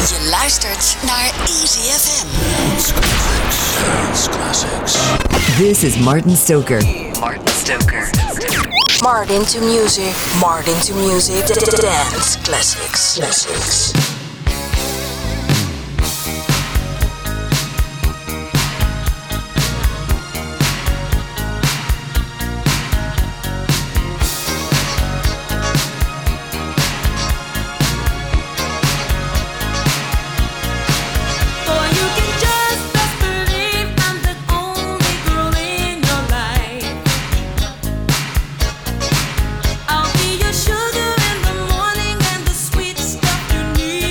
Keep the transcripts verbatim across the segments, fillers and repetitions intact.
Je luistert naar Easy F M. Dance Classics. This is Martin Stoker. Martin Stoker. Martin to music. Martin to music. Dance Classics. Classics. Sugar in the morning and the sweet stuff you need.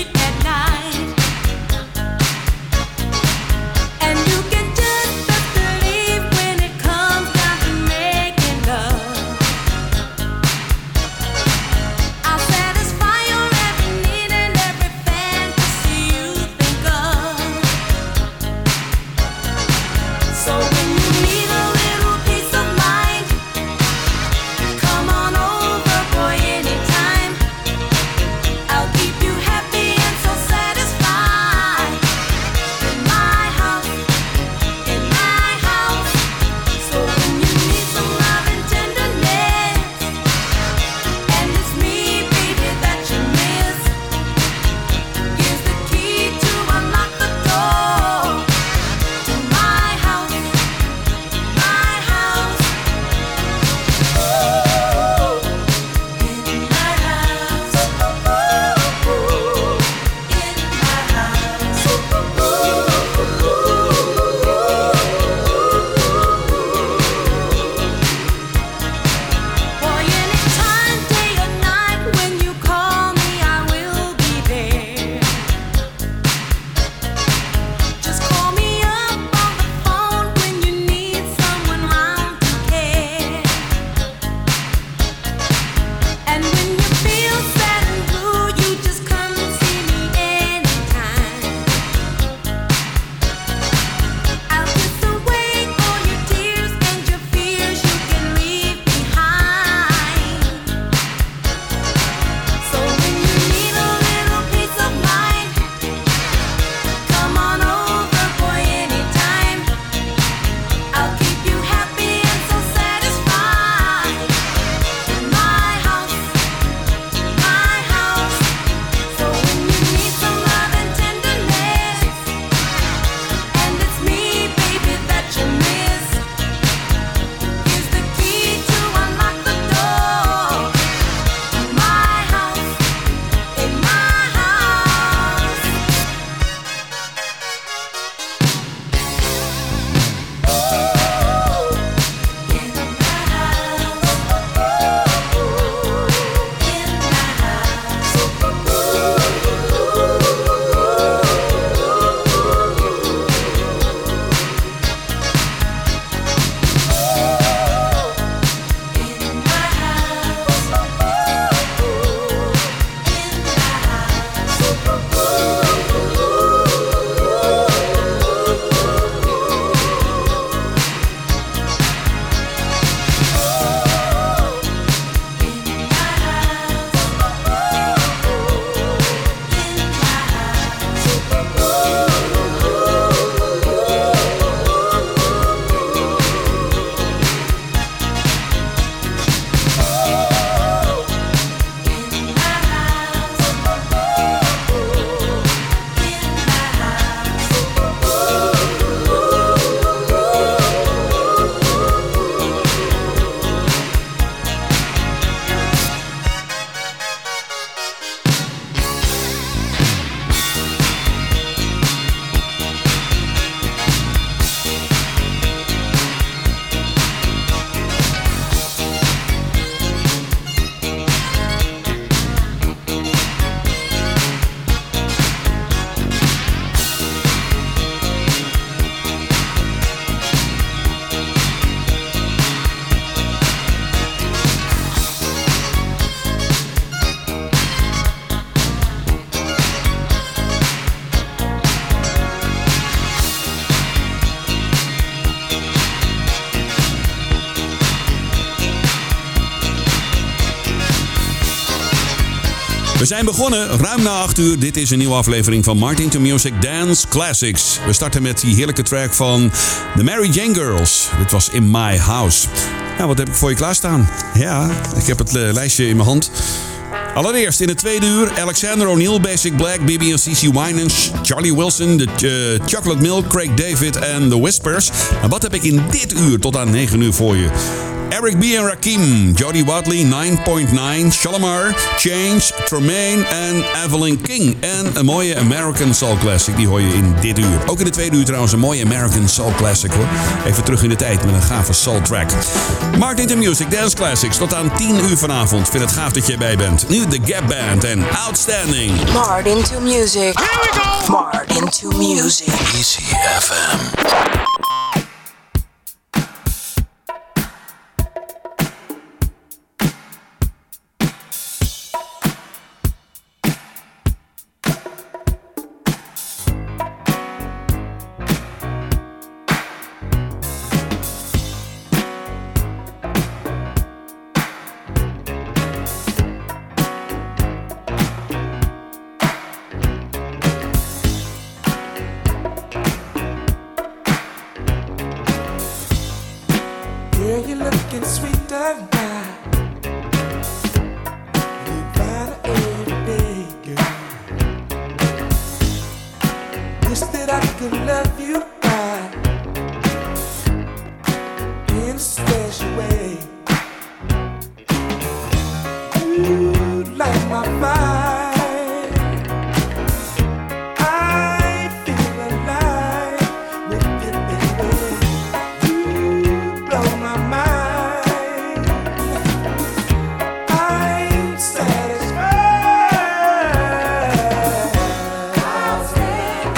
zijn begonnen, ruim na acht uur. Dit is een nieuwe aflevering van Martin to Music Dance Classics. We starten met die heerlijke track van The Mary Jane Girls. Dit was In My House. Nou, wat heb ik voor je klaarstaan? Ja, ik heb het uh, lijstje in mijn hand. Allereerst in het tweede uur Alexander O'Neal, Basic Black, B B en C C Winans, Charlie Wilson, The uh, Chocolate Milk, Craig David en The Whispers. En wat heb ik in dit uur tot aan negen uur voor je? Eric B. en Rakim, Jody Watley, nine point nine, Shalimar, Change, Tremaine en Evelyn King. En een mooie American Soul Classic, die hoor je in dit uur. Ook in de tweede uur trouwens een mooie American Soul Classic hoor. Even terug in de tijd met een gave soul track. Martin to Music Dance Classics tot aan tien uur vanavond. Vind het gaaf dat je erbij bent. Nu de Gap Band en Outstanding. Martin to Music. Here we go. Martin to Music. Easy F M.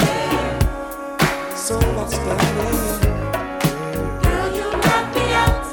Girl, you knock me out.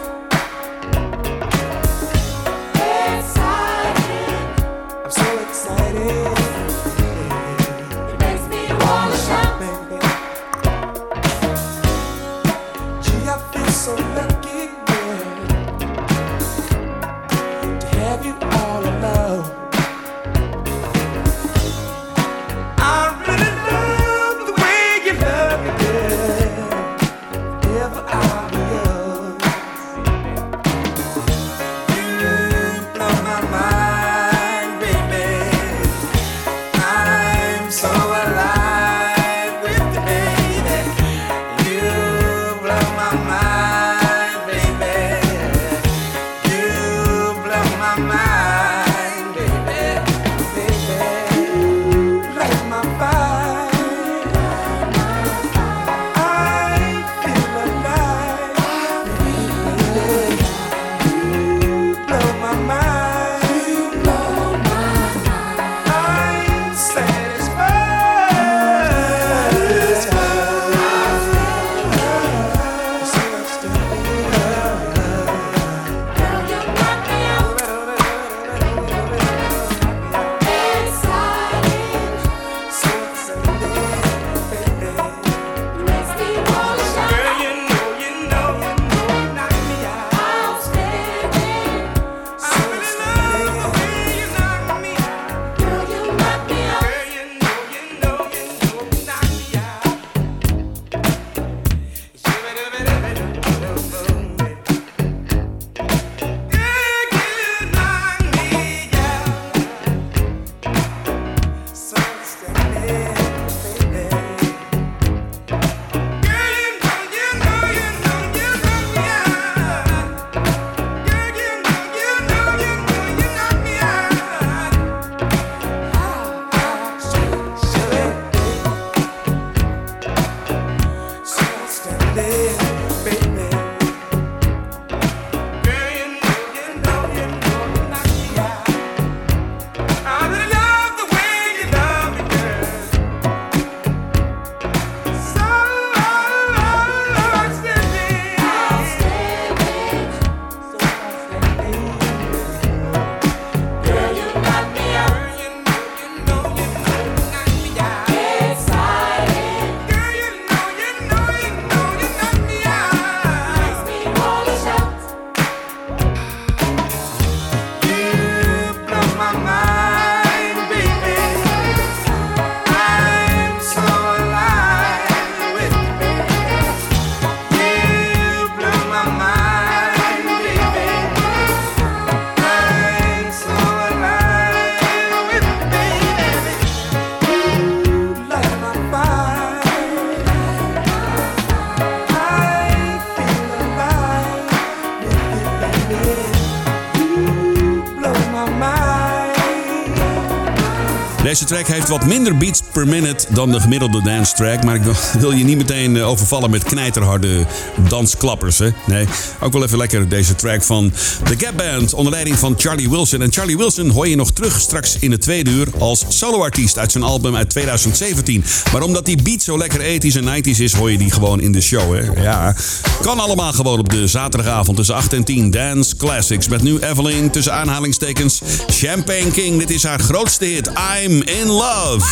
Deze track heeft wat minder beats per minute dan de gemiddelde dance track. Maar ik wil je niet meteen overvallen met knijterharde dansklappers. Hè? Nee, ook wel even lekker deze track van The Gap Band onder leiding van Charlie Wilson. En Charlie Wilson hoor je nog terug straks in het tweede uur als soloartiest uit zijn album uit twintig zeventien. Maar omdat die beat zo lekker ethisch en nineties is, hoor je die gewoon in de show. Hè? Ja, kan allemaal gewoon op de zaterdagavond tussen acht en tien. Dance Classics met nu Evelyn tussen aanhalingstekens Champagne King. Dit is haar grootste hit, I'm in Love.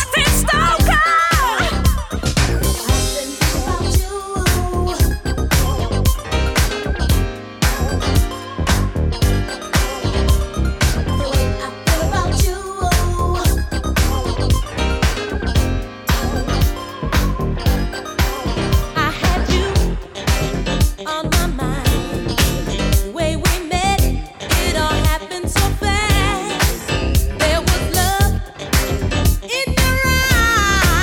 In your eyes.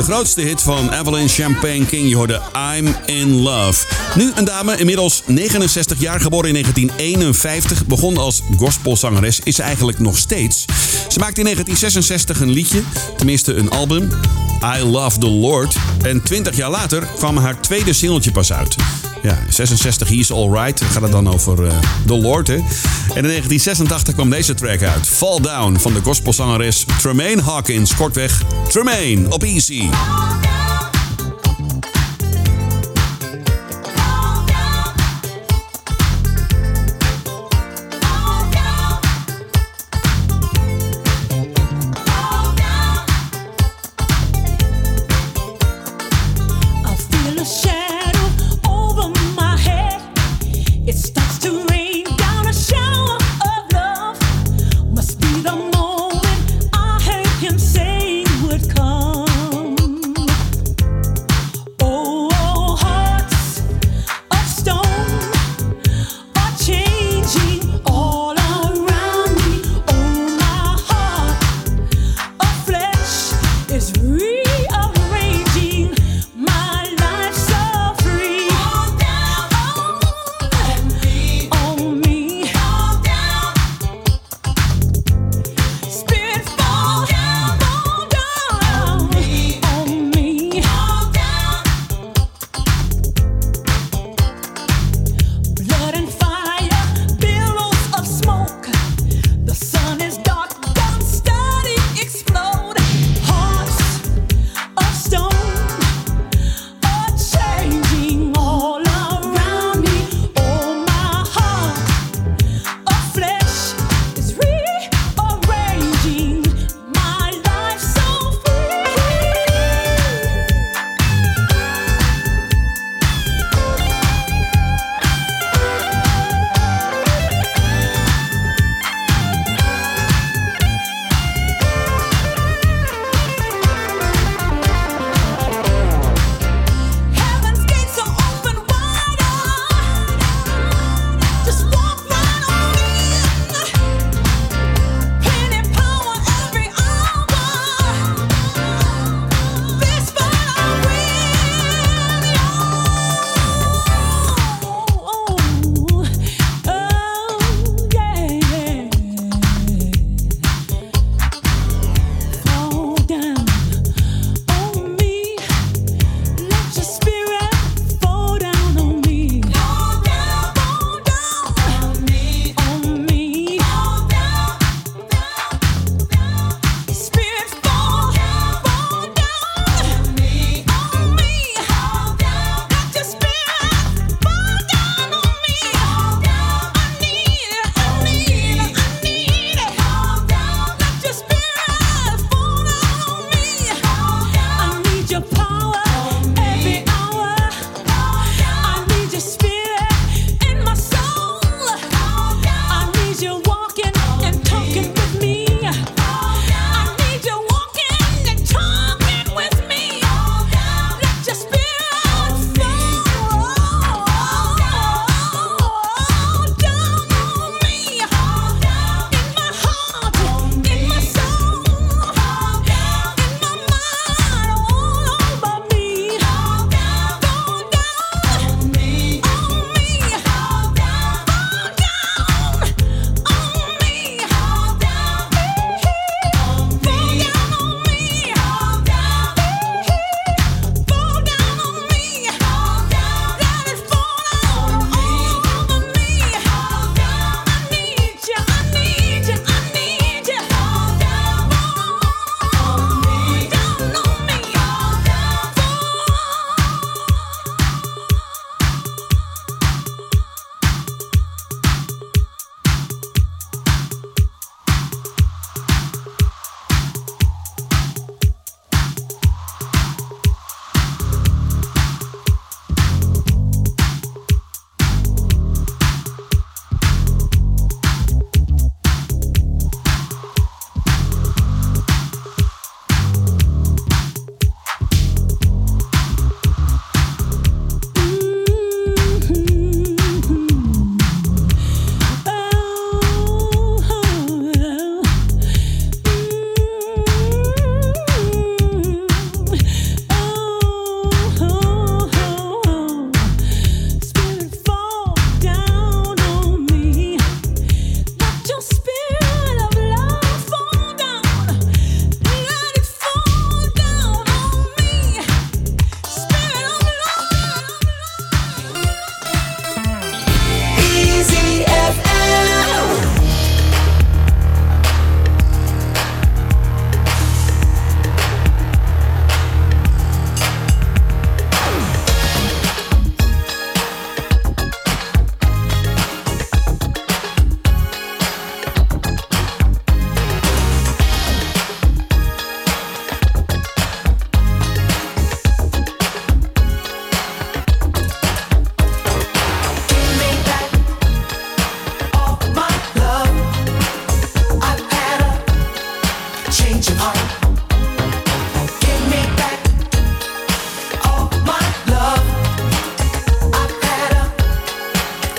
grootste hit van Evelyn Champagne King. Je hoorde I'm in Love. Nu een dame, inmiddels negenenzestig jaar, geboren in negentien eenenvijftig. Begon als gospelzangeres, is ze eigenlijk nog steeds. Ze maakte in negentien zesenzestig een liedje, tenminste een album, I Love the Lord. En twintig jaar later kwam haar tweede singeltje pas uit. Ja, zesenzestig, He's Alright. Dan gaat het dan over uh, The Lord, hè. En in negentien zesentachtig kwam deze track uit. Fall Down van de gospelzangeres Tremaine Hawkins. Kortweg, Tremaine op Easy. Say would come.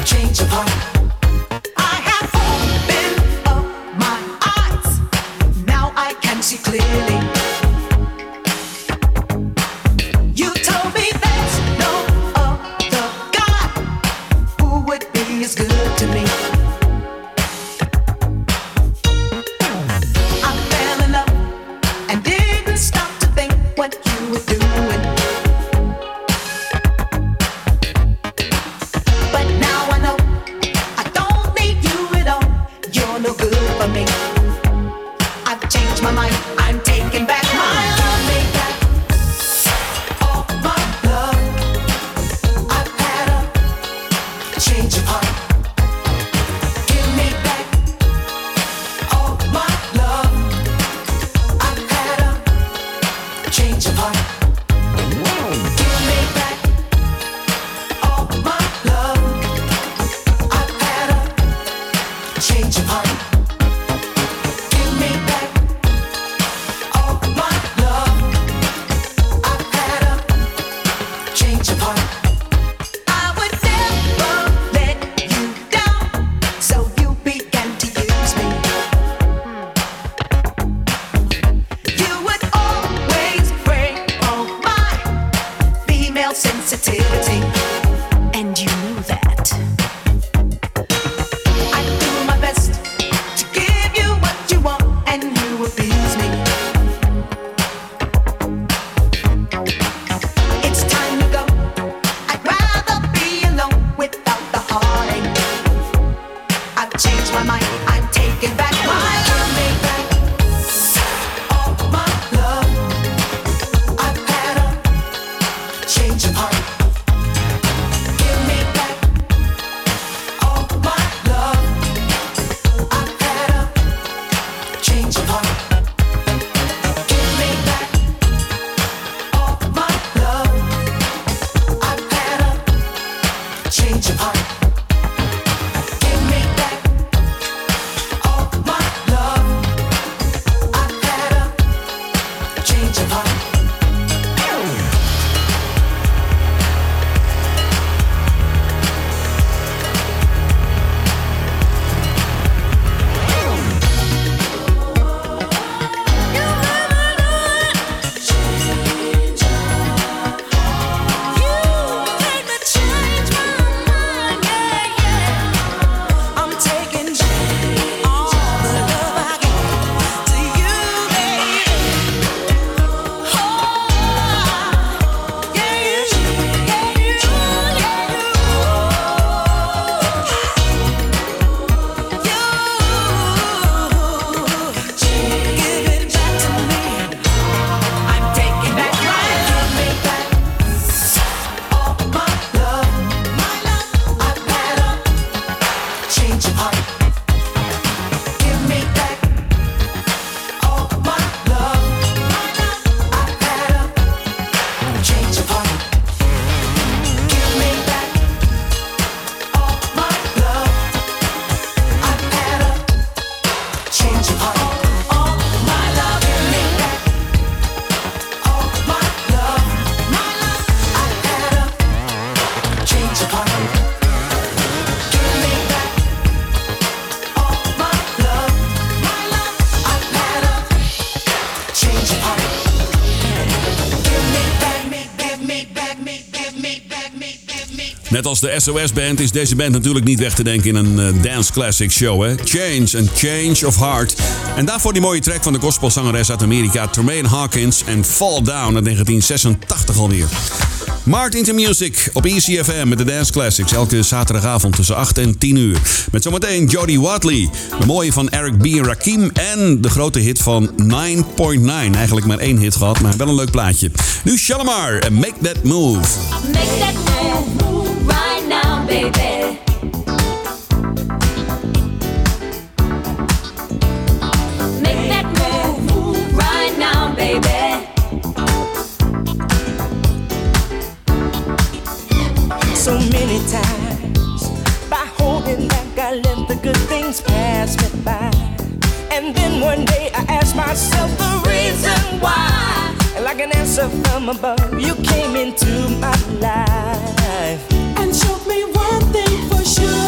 change of heart. I have opened up my eyes. Now I can see clearly. You told me there's no other God who would be as good to me. I fell in love and didn't stop to think what you were doing. But now I know I don't need you at all. You're no good for me. I've changed my mind. I'm taking back my love. Take back all my love. I've had a change of heart. Give me back all my love. I've had a change of heart. Give me back all my love. I've had a change of heart. Give me back all my love. I've had a change of heart. I would never let you down, so you began to use me. You would always break all my female sensitivity, and you knew that. I do my best to give you what you want, and you abuse me. It's time to go. I'd rather be alone without the heartache. I've changed my mind. I'm taking back my love. Take back all my love. I've had a change of heart. Give me back all my love. I've had a change of heart. Give me back all my love. I've had a change of heart. Give me back all my love. I've had a change of heart. I'm taking all the love I give to you, baby. Oh, yeah, you, yeah, you, yeah, you. Give it back to me. I'm taking back my love. Give me back all my love. My love. I've had a change of heart. Give me back all my love. My love. I've had a change of heart. Give me back all my love. I've had a change of heart. All my love. Give me back all my love. My love. I've had a change of heart. Give me back all my love. My love. I've had a change of heart. Give me back me, give me back me, give me back me, give me. Net als de S O S-band is deze band natuurlijk niet weg te denken in een eh, dance classic show. Hè? Change and Change of Heart. En daarvoor die mooie track van de gospelzangeres uit Amerika, Tremaine Hawkins en Fall Down uit negentien zesentachtig alweer. Martin to Music op E C F M met de Dance Classics. Elke zaterdagavond tussen acht en tien uur. Met zometeen Jody Watley. De mooie van Eric B. en Rakim. En de grote hit van nine point nine. Eigenlijk maar één hit gehad, maar wel een leuk plaatje. Nu Shalimar en Make That Move. Make that move right now, baby. Make that move right now, baby. So many times by holding back I let the good things pass me by. And then one day I asked myself the reason why. And like an answer from above, you came into my life and showed me one thing for sure.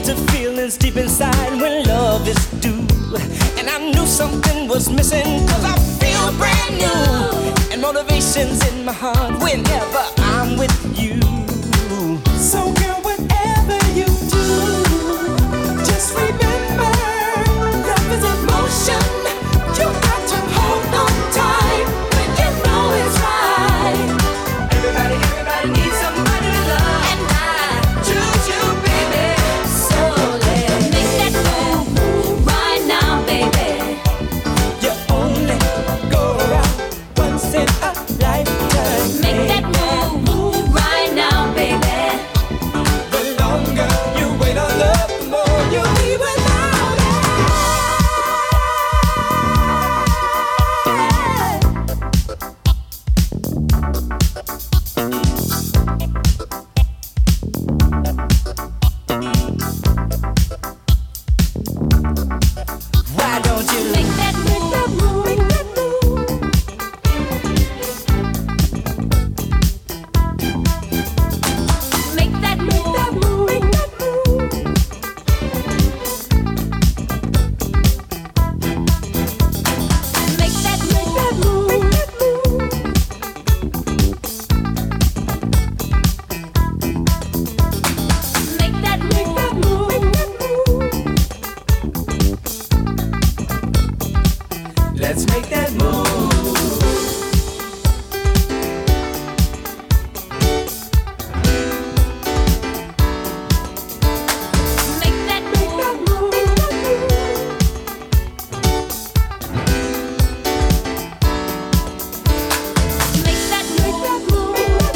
into feelings deep inside when love is due. And I knew something was missing, cause I feel brand new. And motivation's in my heart whenever I'm with you. So girl, whatever you do, just remember, love is emotion. You got to hold on tight when you know it's right. Everybody, everybody needs somebody to love, and I choose you, baby. So let's make that move right now, baby. You only go around once in a lifetime. Make that move right now, baby. The longer you wait on love, the more you'll be without it. Why don't you Make that move, make that move. Make that move, make that move. Make that move, make that move. Make that move, make that move. Let's make that move. Make that move, make that move. Make that move, make that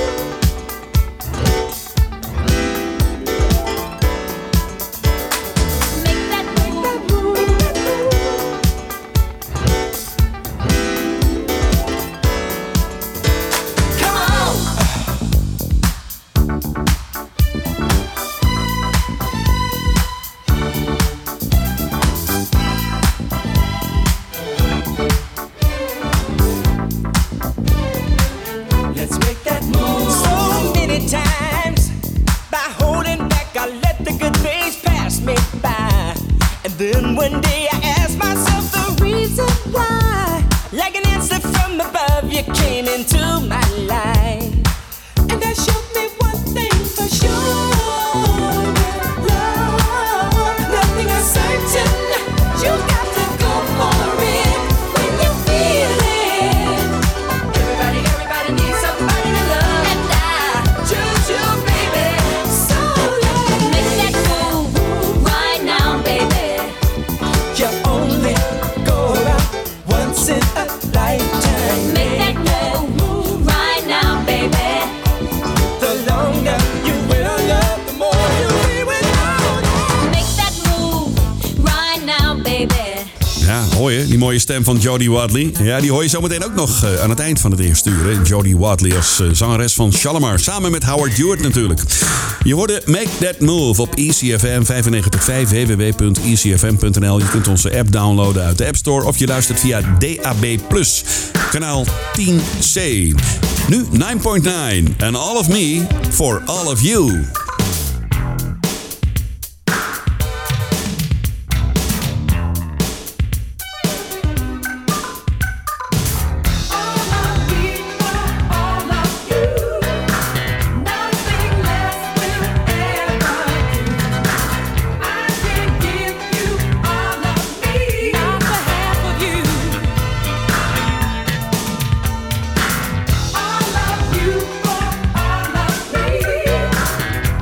move. Make that move, make that move. Come on. Let's make that move. So many times, by holding back, I let the good days pass me by. And then one day I asked myself the reason why. Like an answer from above, you came into my life. And that showed me one thing for sure. Love, nothing is certain. You got to go for it when you feel it. Everybody, everybody needs somebody to love, and I choose you, baby. So let's Make that move right now, baby. you only go around once in a lifetime. Make that move right now, baby. The longer you wait on love, the more you'll be without it. Make that move right now, baby. Ja, hoor je, die mooie stem van Jodie Watley. Ja, die hoor je zometeen ook nog uh, aan het eind van het eerste uur. Hè? Jodie Watley als uh, zangeres van Shalimar. Samen met Howard Hewitt natuurlijk. Je hoorde Make That Move op E C F M vijfennegentig vijf, w w w punt e c f m punt n l. Je kunt onze app downloaden uit de App Store of je luistert via D A B plus, kanaal tien C. Nu nine point nine. And all of me for all of you. All of you for all of me.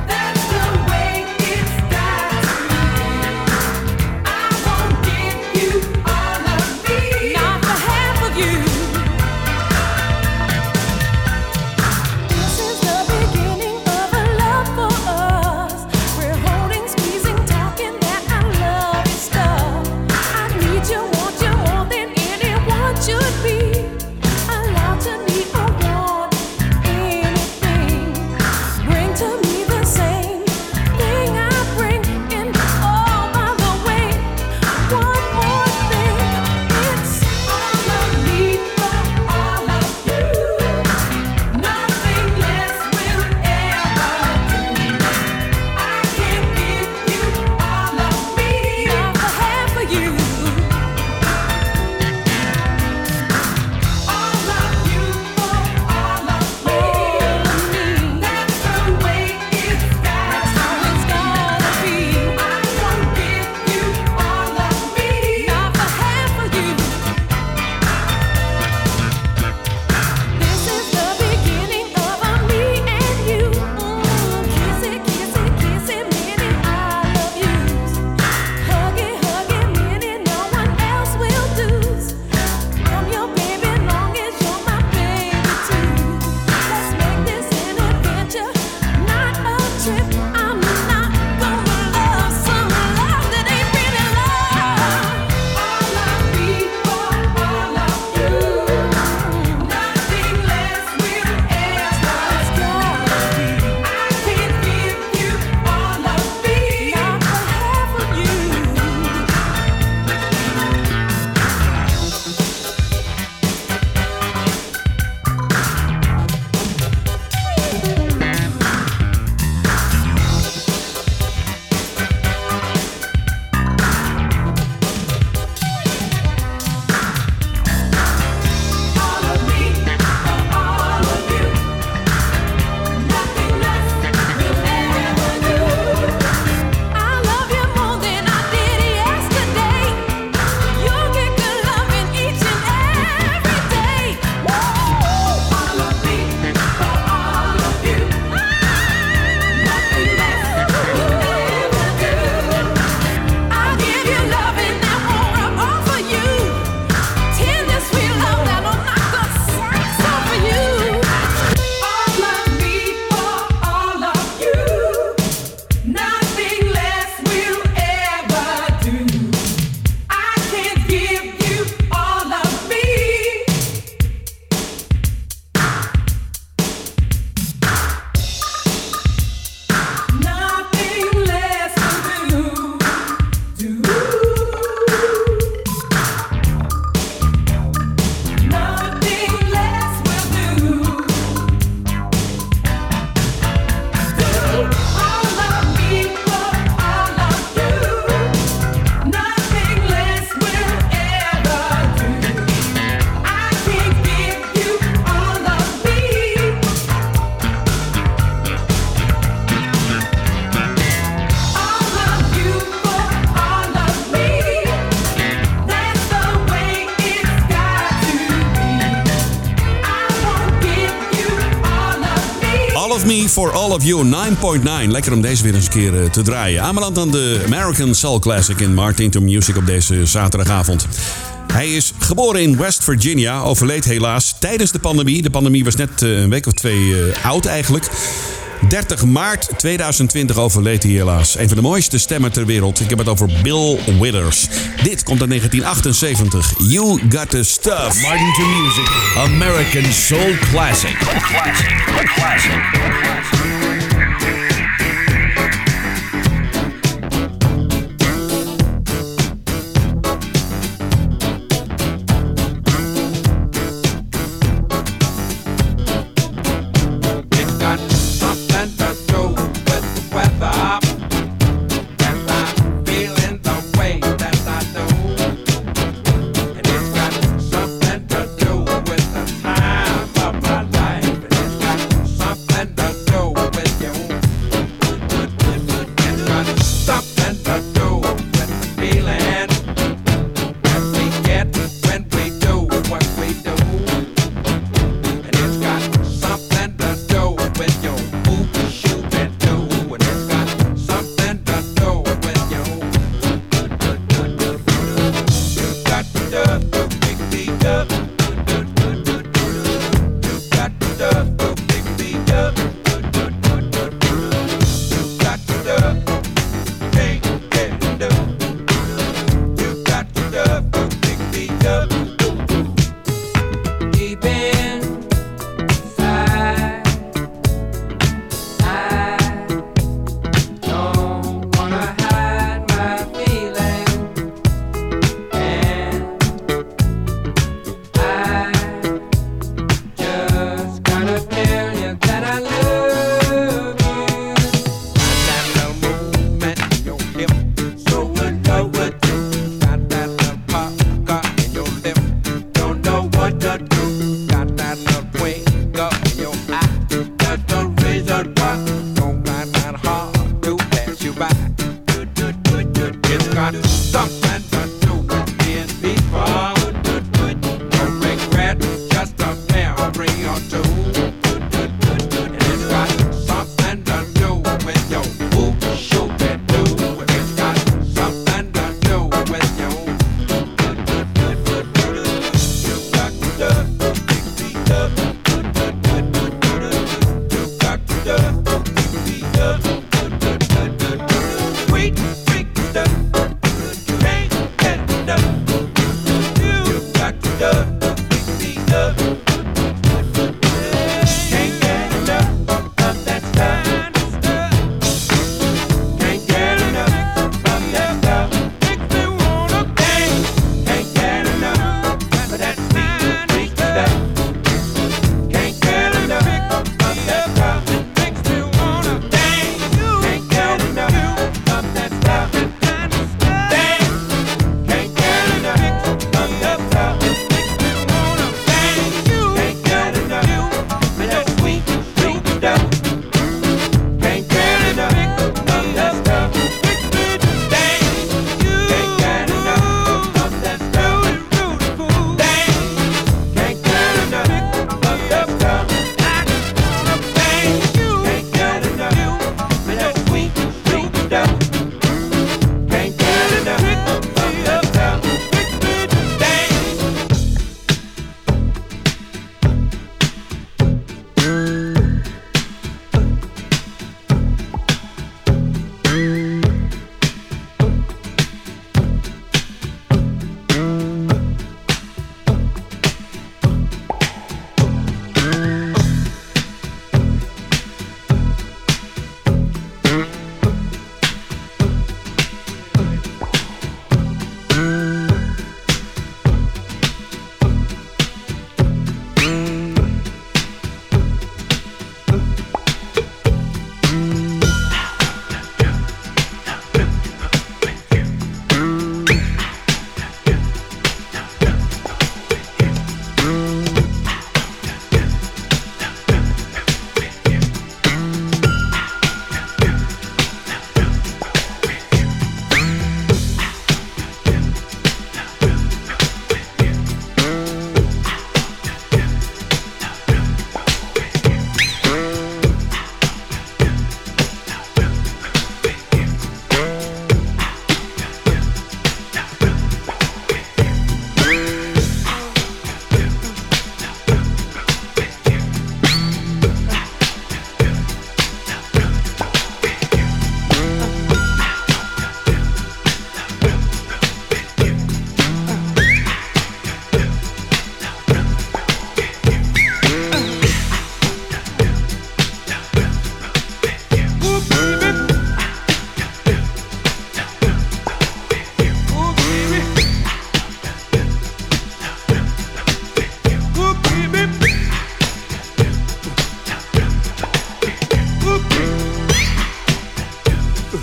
All of Me for All of You, nine point nine. Lekker om deze weer eens een keer uh, te draaien. Aanbeland aan de American Soul Classic in Martin to Music op deze zaterdagavond. Hij is geboren in West Virginia, overleed helaas tijdens de pandemie. De pandemie was net uh, een week of twee uh, oud eigenlijk. dertig maart tweeduizend twintig overleed hij helaas. Een van de mooiste stemmen ter wereld. Ik heb het over Bill Withers. Dit komt uit negentien achtenzeventig. You Got the Stuff. Martin to Music, American Soul Classic. Classic, classic. Something to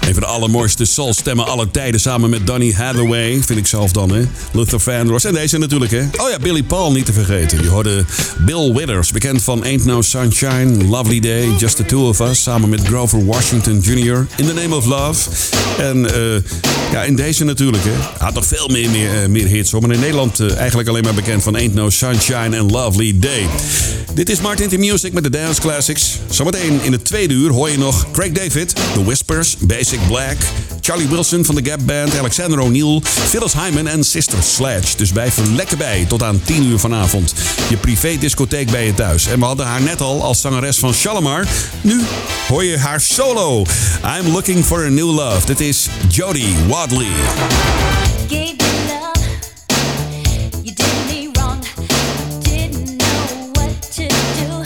Een van de allermooiste soulstemmen aller tijden samen met Donny Hathaway, vind ik zelf dan, hè. Luther Vandross en deze natuurlijk, hè. Oh ja, Billy Paul niet te vergeten. Je hoorde Bill Withers, bekend van Ain't No Sunshine, Lovely Day, Just the Two of Us, samen met Grover Washington junior, In the Name of Love. En uh, ja, in deze natuurlijk, hè. Hij had nog veel meer, meer, uh, meer hits, hoor. Maar in Nederland uh, eigenlijk alleen maar bekend van Ain't No Sunshine and Lovely Day. Dit is Martin to Music met de Dance Classics. Zometeen in het tweede uur hoor je nog Craig David, The Whispers, Basic Black, Charlie Wilson van de Gap Band, Alexander O'Neill, Phyllis Hyman en Sister Sledge. Dus blijf er lekker bij tot aan tien uur vanavond. Je privé-discotheek bij je thuis. En we hadden haar net al als zangeres van Shalimar. Nu hoor je haar solo. I'm looking for a new love. Dit is Jody Wadley. Gave you love, you did me wrong, didn't know what to do.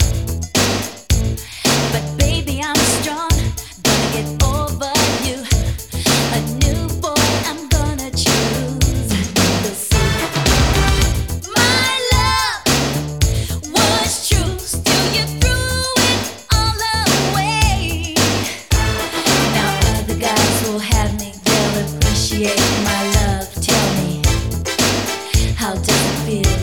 But baby, I'm strong, gonna get over you. A new boy I'm gonna choose. You'll see. My love was true, still you threw it all away. Now other guys will have me, they'll appreciate my love. Tell me, how does it feel?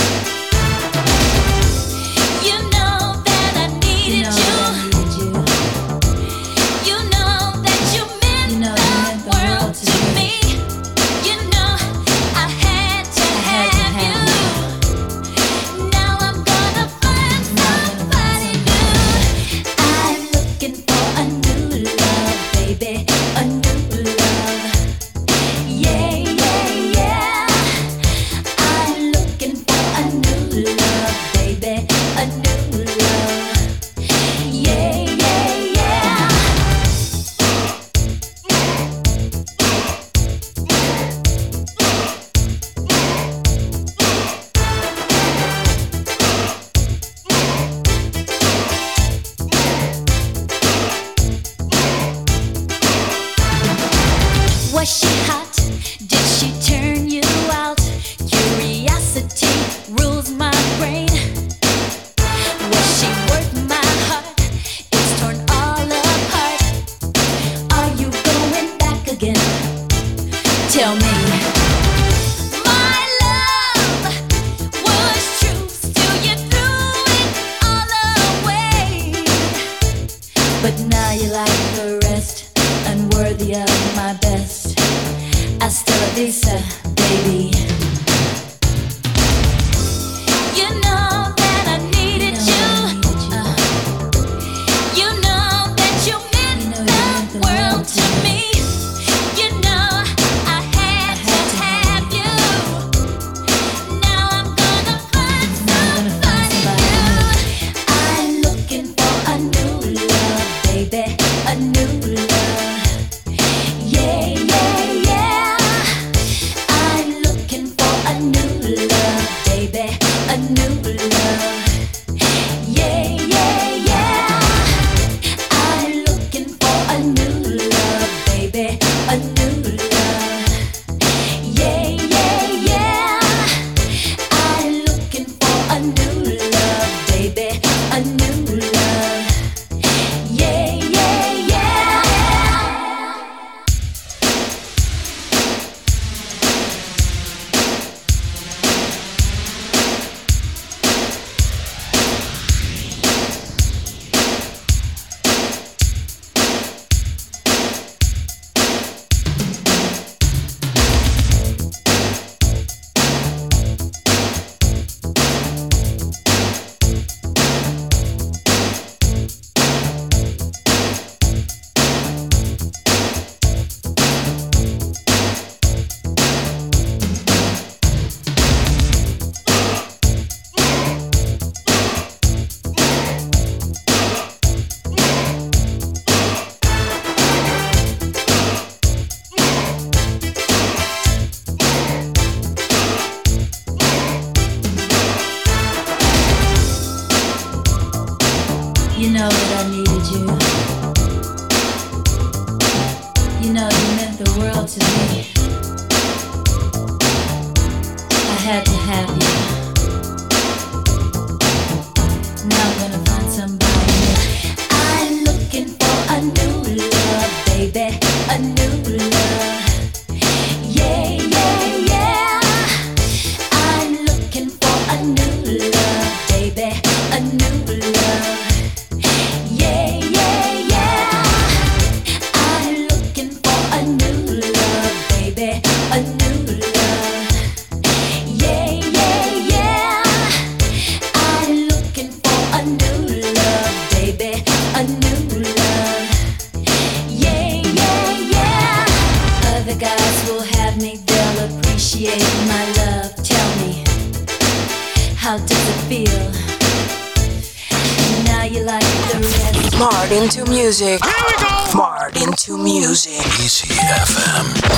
You know that I needed you. You know that you meant the world to me. You know I had to have you. Now I'm gonna find somebody new. I'm looking for a new love, baby, a new love. Yeah, yeah, yeah. I'm looking for a new love, baby, a new love. Yeah, yeah, yeah. Was she hot? Did she turn you out? Curiosity rules my brain. Was she worth my heart? It's torn all apart. Are you going back again? Tell me. My love was true, still you threw it all away. But now you're like the rest, unworthy of my best. Hasta la vista, baby. You know that I needed you. Uh, you know that you meant the world to me. You know I had to have you. Now I'm gonna find somebody new. I'm looking for a new love, baby, a new love. Yeah, yeah, yeah. I'm looking for a new love, baby, a new love. Yeah, yeah, yeah. I'm looking for a new love, baby, a new love. Yeah, yeah, yeah. I'm looking for a new love, baby, a new love. Yeah, yeah, yeah. You know that I needed you. You know you meant the world to me. I had to have you. Now I'm gonna find somebody new. I'm looking for a new love, baby, a Martin to music. Here we go. Martin to music. Easy F M.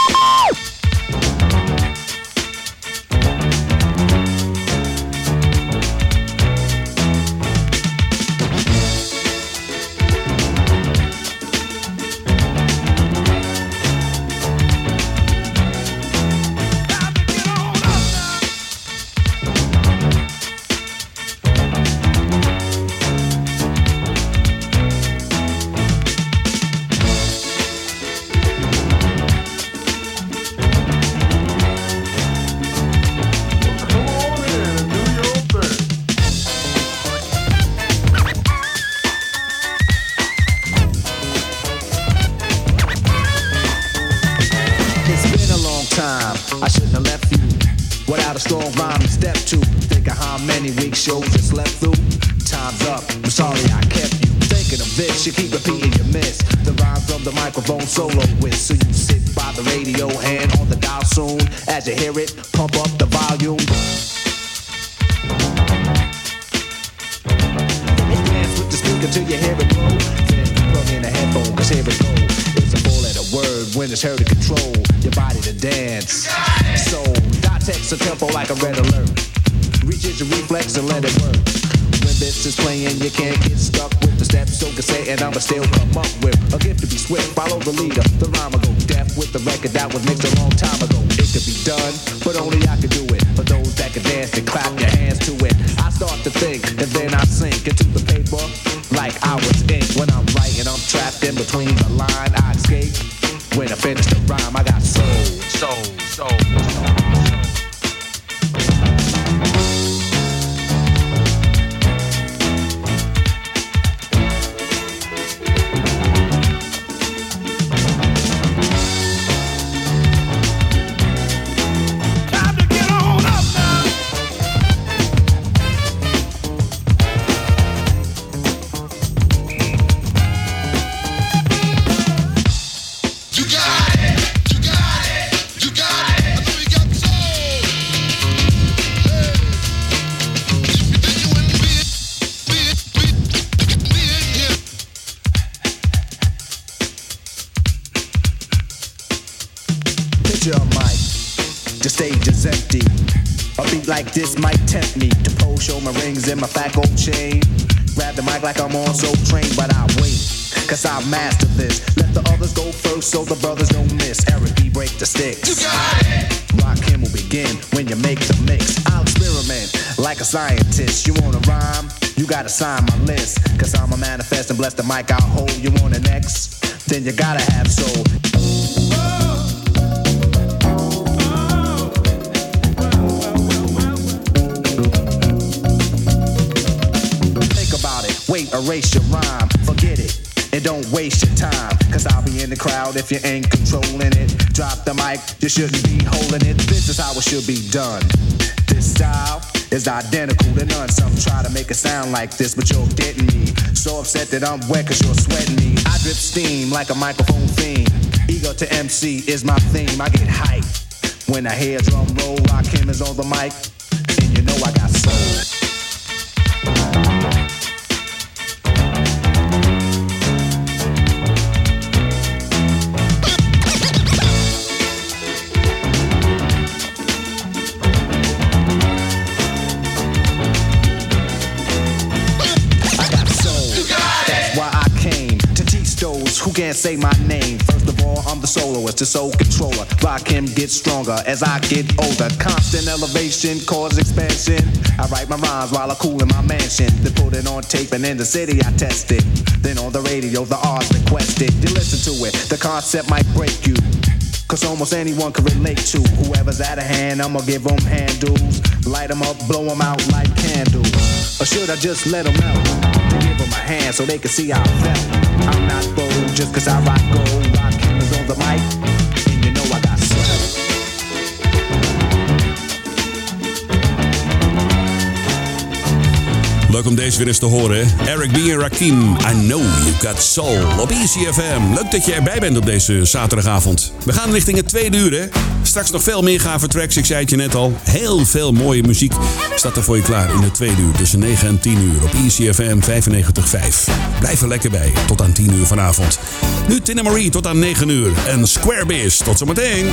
I shouldn't have left you without a strong rhyme to step to. Think of how many weak shows you slept through. Time's up, I'm sorry I kept you thinking of this. You keep repeating your miss the rhyme from the microphone solo with. So you sit by the radio, hand on the dial soon. As you hear it, pump up the volume. Dance with the speaker till you hear it blow. Then plug in a headphone, cause here it go. It's a four-letter word when it's heard to control your body to dance. So, dot text a tempo like a red alert. Reaches your reflex and let it work. When this is playing, you can't get stuck with the steps. So cassette and I'ma still come up with a gift to be swift. Follow the leader, the rhyme will go deaf with the record that was mixed a long time ago. It could be done, but only I could do it. For those that can dance and clap your hands to it. I start to think and then I sink into the paper like I was ink. When I'm writing, I'm trapped in between the line. I escape. When I finish the rhyme, I got soul, soul, soul, soul. Like this might tempt me to pose, show my rings and my fat gold chain. Grab the mic like I'm on Soul Train, but I wait, cause I master this. Let the others go first so the brothers don't miss. Eric B, break the sticks. You got it! Rock him will begin when you make the mix. I'll experiment like a scientist. You wanna rhyme? You gotta sign my list. Cause I'm a manifest and bless the mic I'll hold. You want an X? Then you gotta have soul. Wait, erase your rhyme, forget it, and don't waste your time. Cause I'll be in the crowd if you ain't controlling it. Drop the mic, you shouldn't be holding it. This is how it should be done. This style is identical to none. Some try to make it sound like this, but you're getting me. So upset that I'm wet cause you're sweating me. I drip steam like a microphone theme. Ego to M C is my theme. I get hyped when I hear drum roll. Rakim is on the mic, and you know I got soul. Who can't say my name? First of all, I'm the soloist, the soul controller. Rakim gets stronger as I get older. Constant elevation, cause expansion. I write my rhymes while I cool in my mansion. Then put it on tape and in the city I test it. Then on the radio, the R's requested. You listen to it, the concept might break you. Cause almost anyone can relate to. Whoever's out of hand, I'ma give them handles. Light them up, blow them out like candles. Or should I just let them out? To give them a hand so they can see how I felt. I'm not bold just cause I rock gold. Rakim is on the mic, and you know I got soul. Leuk om deze weer eens te horen. Eric B. en Rakim, I Know You Got Soul op E C F M. Leuk dat je erbij bent op deze zaterdagavond. We gaan richting het tweede uur, hè. Straks nog veel meer gave tracks, ik zei het je net al. Heel veel mooie muziek staat er voor je klaar in het tweede uur. Tussen negen en tien uur op E C F M vijfennegentig komma vijf. Blijf er lekker bij, tot aan tien uur vanavond. Nu Tina Marie tot aan negen uur. En Square Biz, tot zometeen.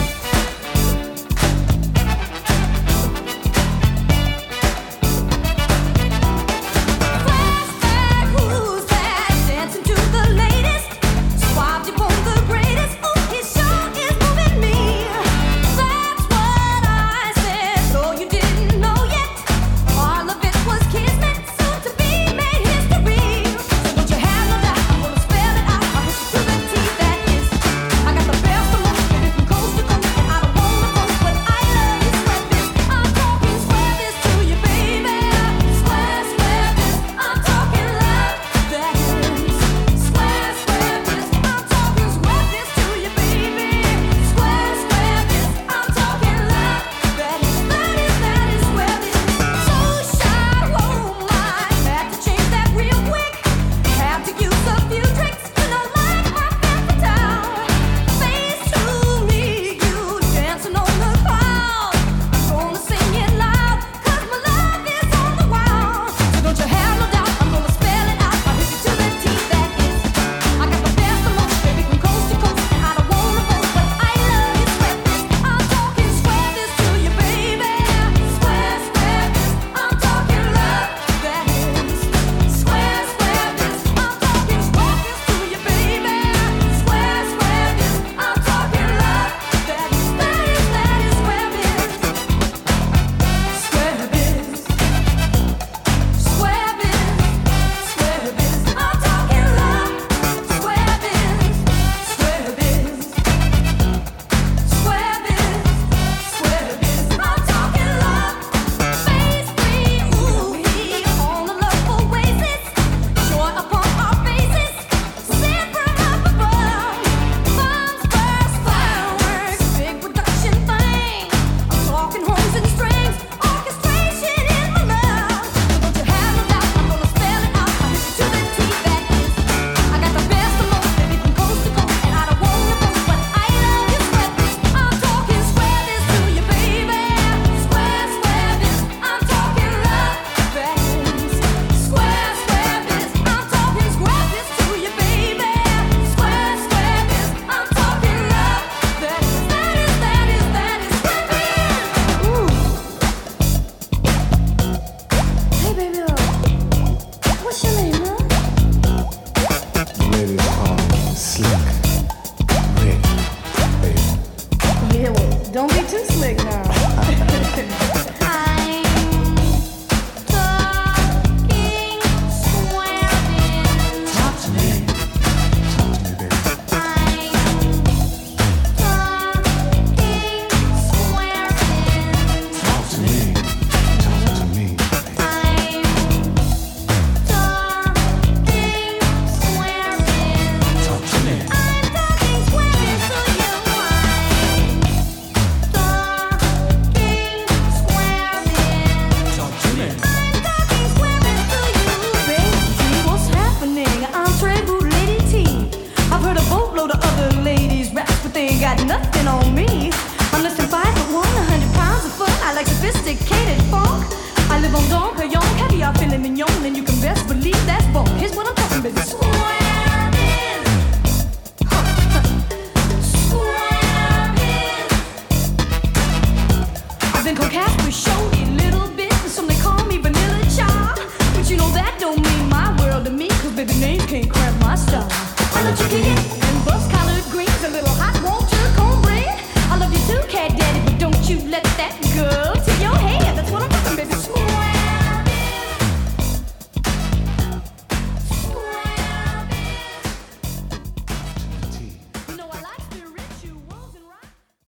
Sophisticated funk. I live on Don Perignon, caviar, filet mignon, and you can